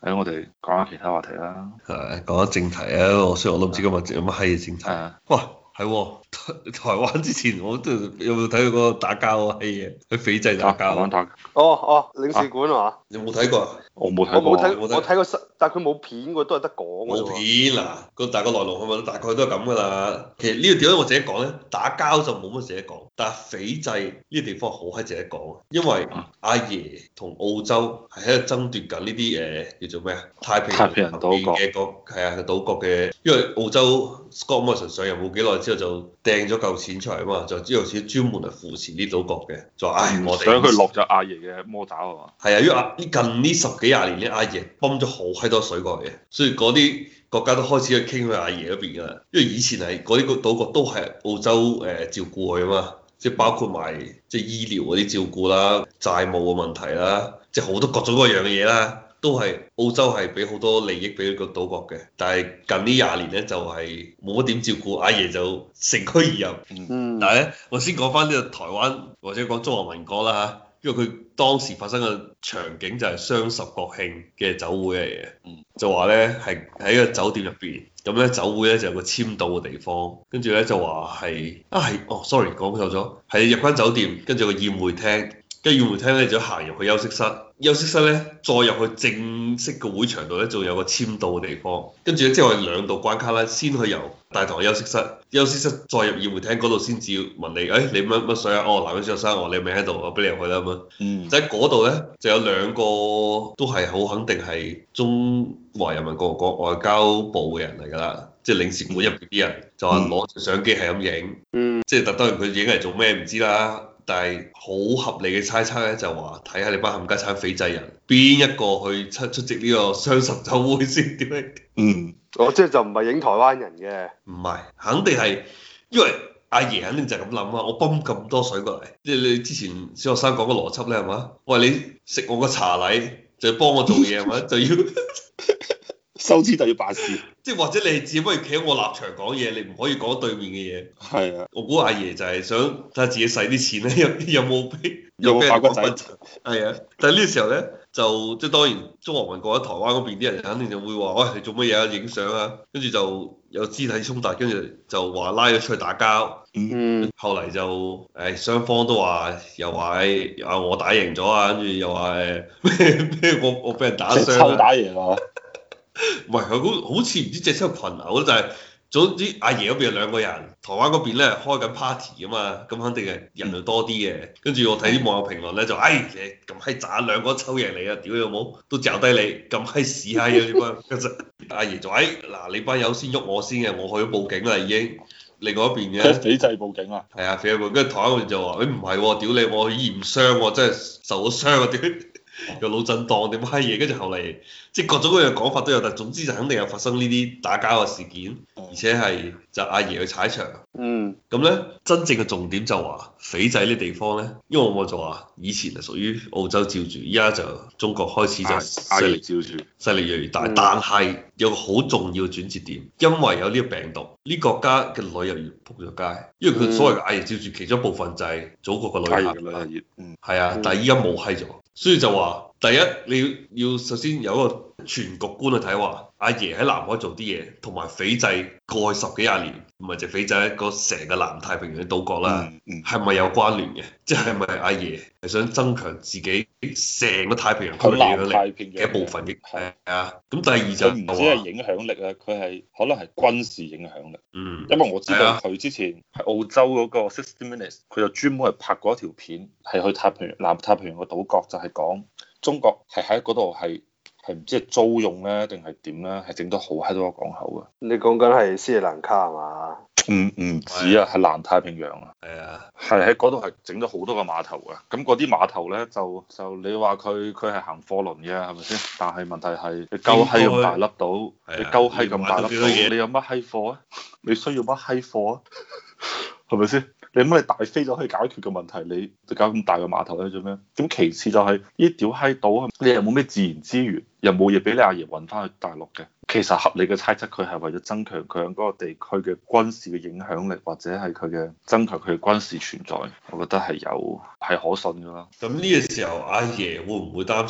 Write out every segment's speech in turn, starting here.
我哋講下其他話題啦。 係講下正題啊！雖然我都唔知今日有乜閪嘢正題。哇，係喎，台灣之前我都有冇睇過嗰個打交啊閪嘢？喺斐濟打交。 台灣打。 領事館係嘛？ 你有冇睇過啊？ 我冇睇過。 我睇過但係佢冇片喎，都係得講㗎啫喎。 冇片嗱，個大個來龍去脈大概都係咁噶啦。其實呢個點解我自己講咧？打交就冇乜自己講，但係斐濟呢個地方好閪自己講，因為阿爺同澳洲係喺度爭奪緊呢啲叫做咩啊？太平洋島國嘅島國嘅，因為澳洲 Scott Morrison 上任冇幾耐之後就掟咗嚿錢出嚟啊嘛，就之後先專門嚟扶持呢島國嘅，就話我哋想佢落咗阿爺嘅魔爪係嘛？ 係啊，因為近呢十幾廿年咧，阿爺泵咗好閪多水過嚟嘅，所以嗰啲國家都開始去傾去阿爺嗰邊噶啦。因為以前係嗰啲個島國都係澳洲照顧佢啊嘛，即係包括埋即係醫療嗰啲照顧啦、債務嘅問題啦，即係好多各種各樣嘅嘢啦，都係澳洲係俾好多利益俾個島國嘅。但係近呢廿年咧就係冇乜點照顧，阿爺就乘虛而入。但係咧，我先講翻呢個台灣或者講中華民國啦嚇。因為佢當時發生嘅場景就係雙十國慶嘅酒會嚟嘅，就話咧係喺個酒店入邊，咁咧酒會咧就有個簽到嘅地方，跟住咧就話係sorry 講錯咗，係入間酒店，跟住個宴會廳，跟住宴會廳咧就行入去休息室，休息室咧再入去正式嘅會場度咧，仲有個簽到嘅地方，跟住咧即係我哋兩道關卡啦，先去由大堂休息室，休息室再入宴會廳嗰度先至問你，你乜水啊？男嘅先生，你未喺度，我俾你入去啦咁樣。就喺嗰度咧，就有兩個都係好肯定係中華人民共和國外交部嘅人嚟㗎啦，即係領事館入邊啲人，就話攞住相機係咁影，即係當然佢影嚟做咩唔知啦。但係好合理嘅猜測咧，就話睇下你班冚家產斐濟人邊一個去出席呢個雙十酒會先點樣？ 即係就唔係影台灣人嘅， 唔係，肯定係因為阿爺肯定就係咁諗啊！我泵咁多水過嚟，即係你之前小學生講個邏輯咧係嘛？喂，你食我個茶禮就要幫我做嘢係嘛？就要收錢就要辦事， 即係或者你只不過企喺我立場講嘢，你唔可以講對面嘅嘢。 係啊，我估阿爺就係想睇下自己使啲錢咧，有冇俾發骨仔？ 係啊，但係呢個時候咧，就即係當然中華民國喺台灣嗰邊啲人肯定就會話：喂，你做乜嘢啊？影相啊！跟住就有肢體衝突，跟住就話拉咗出去打交。後嚟就雙方都話又話我打贏咗啊，跟住又話咩我俾人打傷。 抽打贏啊！ 唔係佢好似唔知隻抽群毆，就係總之阿爺嗰邊有兩個人，台灣嗰邊咧開緊 party 啊嘛，咁肯定係人就多啲嘅。跟住我睇啲網友評論咧就你咁閪渣，兩個抽贏你啊！屌你老母，都嚼低你咁閪屎閪啊！呢班跟住阿爺就嗱你班友先喐我先嘅，我去咗報警啦已經。另外一邊嘅斐濟報警啊？ 係啊，斐濟報警，跟住台灣嗰邊就話唔係喎，屌你我驗傷喎，真係受咗傷啊屌！有腦震盪點閪嘢，跟住後嚟即係各種各樣講法都有，但總之就肯定有發生呢啲打交嘅事件，而且係就阿爺去踩場。咁咧真正嘅重點就話斐濟呢地方咧，因為我就話以前係屬於澳洲照住，依家就中國開始就勢力照住，勢力越嚟越大。但係有個好重要嘅轉折點，因為有呢個病毒，呢國家嘅旅遊業仆咗街，因為佢所謂嘅阿爺照住其中一部分就係祖國嘅旅遊業。係啊，但係依家冇閪咗。所以就話，第一你要首先有一個全局觀去睇話，阿爺喺南海做啲嘢，同埋斐濟過去十幾廿年，唔係就斐濟一個成個南太平洋嘅島國啦，係咪有關聯嘅？即係咪阿爺係想增強自己成個太平洋區嘅影響力嘅一部分嘅？係啊。咁第二就唔止係影響力啊，佢係可能係軍事影響力。因為我知道佢之前喺澳洲嗰個60 Minutes，佢就專門係拍過一條片，係去南太平洋個島國，就係講中國係喺嗰度係唔知係租用咧定係點咧，係整到好閪多個港口嘅。 你講緊係斯里蘭卡係嘛？ 唔止啊，係南太平洋啊。 係啊， 係喺嗰度係整咗好多個碼頭啊。咁嗰啲碼頭咧就你話佢係行貨輪嘅係咪先？但係問題係你鳩閪咁大粒島，你鳩閪咁大粒島，你有乜閪貨啊？你需要乜閪貨啊？係咪先？你乜你大飛就可以解決嘅問題，你就搞咁大個碼頭咧做咩？咁其次就係呢啲屌閪島，你又冇咩自然資源，又冇嘢俾你阿爺運翻去大陸嘅。其實合理嘅猜測，佢係為咗增強佢喺嗰個地區嘅軍事嘅影響力，或者係佢嘅增強佢嘅軍事存在，我覺得係可信㗎啦。 咁呢個時候，阿爺會唔會擔心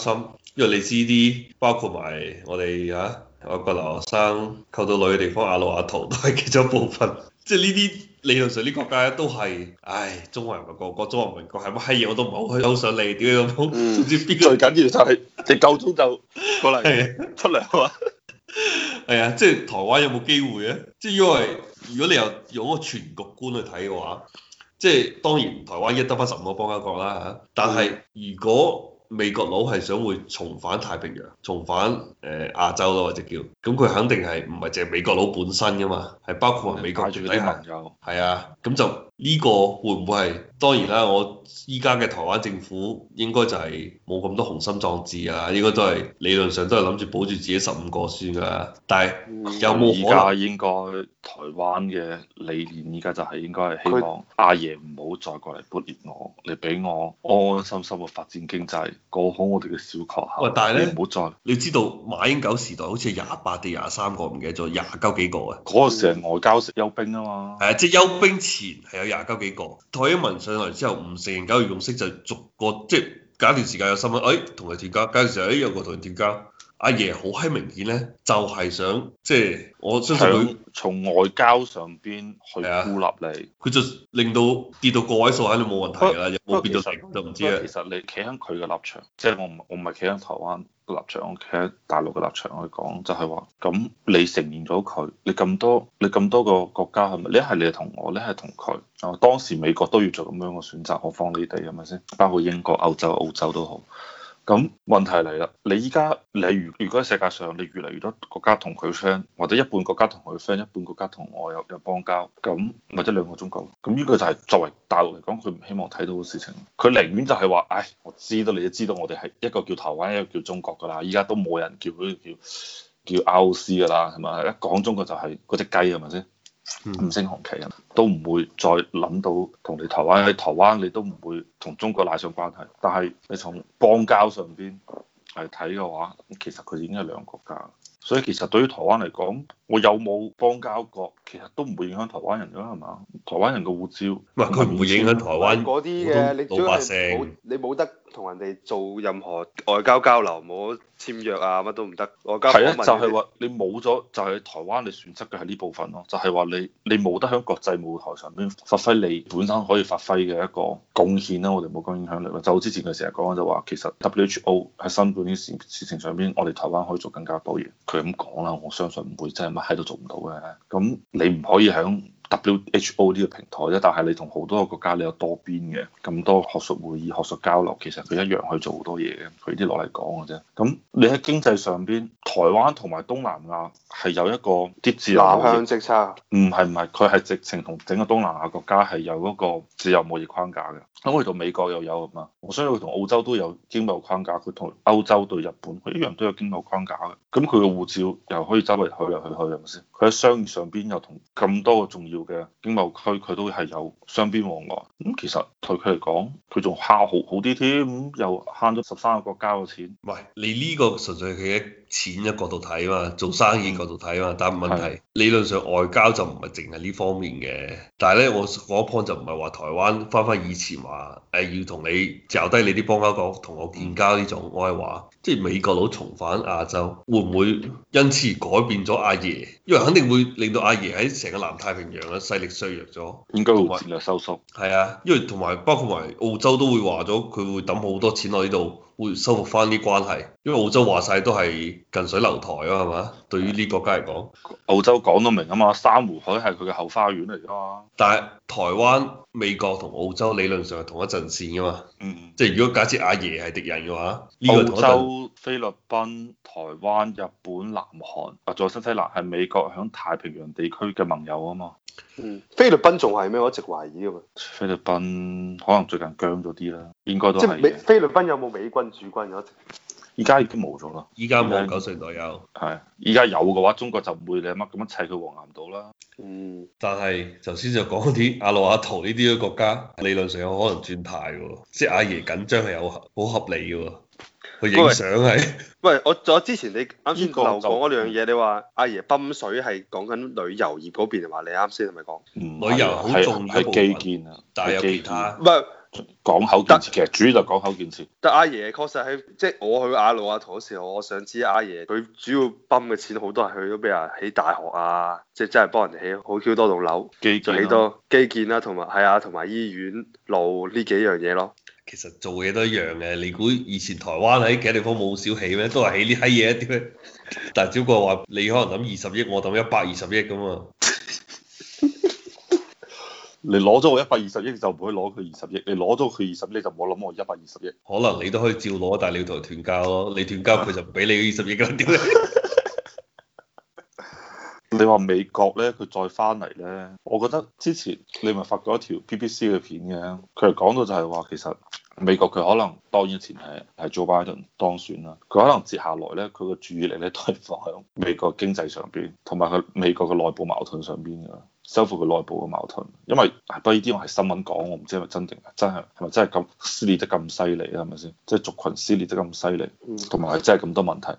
因為你知啲包括埋我哋外國留學生溝到女嘅地方，阿魯阿圖都係其中一部分。即係呢啲理論上啲國家都係，唉，中華人民共和國、中華民國係乜閪嘢我都唔係好想理，點解咁？總之邊個最緊要就係你夠鐘就過嚟出嚟啊嘛。 係啊，即係台灣有冇機會咧？即係因為如果你又用一個全局觀去睇嘅話，即係當然台灣一得翻15個邦交國啦嚇，但係如果美國佬係想會重返太平洋，重返亞洲咯，或者叫咁，佢肯定係唔係淨係美國佬本身噶嘛，係包括埋美國住啲盟友。係啊，咁就呢個會唔會係？當然啦，我依家嘅台灣政府應該就係冇咁多雄心壯志啊，應該都係理論上都係諗住保住自己15個算㗎啦。但係有冇而家應該台灣嘅理念依家就係應該係希望阿爺唔好再過嚟撥亂我，你俾我安安心心嘅發展經濟，過好我哋嘅小確幸。 喂，但係咧， 唔好再你知道馬英九時代好似係28定23個，唔記得咗20幾個啊。 嗰個時係外交休兵啊嘛。 係啊，即係休兵前係有20幾個。蔡英文上嚟之後唔承認九二共識，就逐個即係隔一段時間有新聞，同佢斷交，隔段時間有個同佢斷交。阿爺好閪明顯咧，就係想即係我相信佢從外交上邊去孤立你， 佢就令到跌到個位數肯定冇問題㗎啦，有冇變到零就唔知啊。 其實你企喺佢嘅立場，即係我唔係企喺台灣嘅立場，我企喺大陸嘅立場去講，就係話咁你承認咗佢，你咁多個國家係咪？你係你同我，你係同佢。啊，當時美國都要做咁樣嘅選擇，何況你哋係咪先？包括英國、歐洲、澳洲都好。咁問題嚟啦，你依家你如果喺世界上你越嚟越多國家同佢 friend，或者一半國家同佢 friend，一半國家同我有邦交，咁或者兩個中國，咁呢個就係作為大陸嚟講，佢唔希望睇到嘅事情。佢寧願就係話，唉，我知道你都知道我哋係一個叫台灣，一個叫中國㗎啦。依家都冇人叫佢叫 ROC 㗎啦，係咪？一講中國就係嗰隻雞係咪先？五星紅旗啊，都唔會再諗到同你台灣喺台灣，你都唔會同中國拉上關係。但係你從邦交上邊嚟睇嘅話，其實佢已經係兩個國家。所以其實對於台灣嚟講，我有冇邦交國，其實都唔會影響台灣人㗎，係嘛？台灣人嘅護照， 唔係佢唔會影響台灣嗰啲嘅，你主要係你冇得同人哋做任何外交交流，冇簽約啊，乜都唔得。外交係啊，就係話你冇咗，就係台灣你損失嘅係呢部分咯，就係話你冇得喺國際舞台上邊發揮你本身可以發揮嘅一個貢獻啦。我哋冇講影響力啦，就之前佢成日講就話，其實 WHO 喺新冠呢事情上邊，我哋台灣可以做更加多嘢。佢咁講啦，我相信唔會真係乜喺度做唔到嘅。咁你唔可以喺WHO 呢個平台啫，但係你同好多個國家你有多邊嘅咁多學術會議、學術交流，其實佢一樣去做好多嘢嘅。佢啲攞嚟講嘅啫。咁你喺經濟上邊，台灣同埋東南亞係有一個啲自由南向政策。 唔係，佢係直情同整個東南亞國家係有嗰個自由貿易框架嘅。咁佢同美國又有啊嘛，我相信佢同澳洲都有經貿框架，佢同歐洲對日本佢一樣都有經貿框架嘅。咁佢嘅護照又可以周圍去嚟去去，係咪先？佢喺商業上邊又同咁多個重要嘅經貿區，佢都係有雙邊往來。咁其實對佢嚟講，佢仲慳好啲添，咁又慳咗13個國家嘅錢。 喂，你呢個純粹係佢嘅錢嘅角度睇嘛，做生意角度睇嘛，但係問題理論上外交就唔係淨係呢方面嘅。但係咧，我嗰 point 就唔係話台灣翻以前話要同你嚼低你啲邦交國同我建交呢種，我係話即係美國佬重返亞洲，會唔會因此而改變咗阿爺？因為肯定會令到阿爺喺成個南太平洋嘅勢力削弱咗， 應該會戰略收縮。 係啊，因為同埋包括埋澳洲都會話咗，佢會抌好多錢落呢度，會修復翻啲關係。因為澳洲話晒都係近水樓台啊，係嘛？對於呢國家嚟講， 澳洲講到明啊嘛，珊瑚海係佢嘅後花園嚟㗎嘛。 但係台灣、美國同澳洲理論上係同一陣線㗎嘛。即係如果假設阿爺係敵人嘅話， 澳洲、菲律賓、台灣、日本、南韓啊，仲有新西蘭係美國響太平洋地區嘅盟友啊嘛。 菲律賓仲係咩？我一直懷疑㗎嘛。 菲律賓可能最近僵咗啲啦，應該都係。 即係菲律賓有冇美軍駐軍嘅？ 依家已經冇咗啦。 依家冇90年代有。 係，依家有嘅話，中國就唔會你乜咁樣砌佢黃岩島啦。 但係頭先就講啲阿魯阿圖呢啲嘅國家，理論上有可能轉態喎，即係阿爺緊張係有好合理嘅喎。佢影相係。 喂，我之前你啱先漏講嗰兩樣嘢，你話阿爺泵水係講緊旅遊業嗰邊，係嘛？你啱先係咪講？ 旅遊好重要一部分， 係基建啊， 但係有其他。 唔係， 港口建設其實主要就港口建設。 但阿爺確實係，即係我去亞魯亞圖嗰時候，我想知阿爺佢主要泵嘅錢好多係去咗俾人起大學啊，即係真係幫人哋起好 Q 多棟樓，就起多基建啦，同埋係啊，同埋醫院路呢幾樣嘢咯。 其實做嘢都一樣嘅，你估以前台灣喺其他地方冇少起咩？都係起呢閪嘢一啲咩？但係只不過話你可能諗20億，我諗120億咁嘛。 你攞咗我120億就唔可以攞佢20億，你攞咗佢20億就唔好諗我120億。 可能你都可以照攞，但係你要同佢斷交咯。你斷交佢就唔俾你20億啦。點咧？ 你話美國咧，佢再翻嚟咧，我覺得之前你咪發過一條 BBC 嘅片嘅，佢係講到就係話其實美國佢可能當然前係 Joe Biden 當選啦，佢可能接下來咧佢個注意力咧都係放喺美國經濟上邊，同埋佢美國嘅內部矛盾上邊㗎。收復佢內部嘅矛盾，因為不過呢啲我係新聞講，我唔知係咪真定係咪真係咁撕裂得咁犀利啊？係咪先？即係族群撕裂得咁犀利，同埋係真係咁多問題。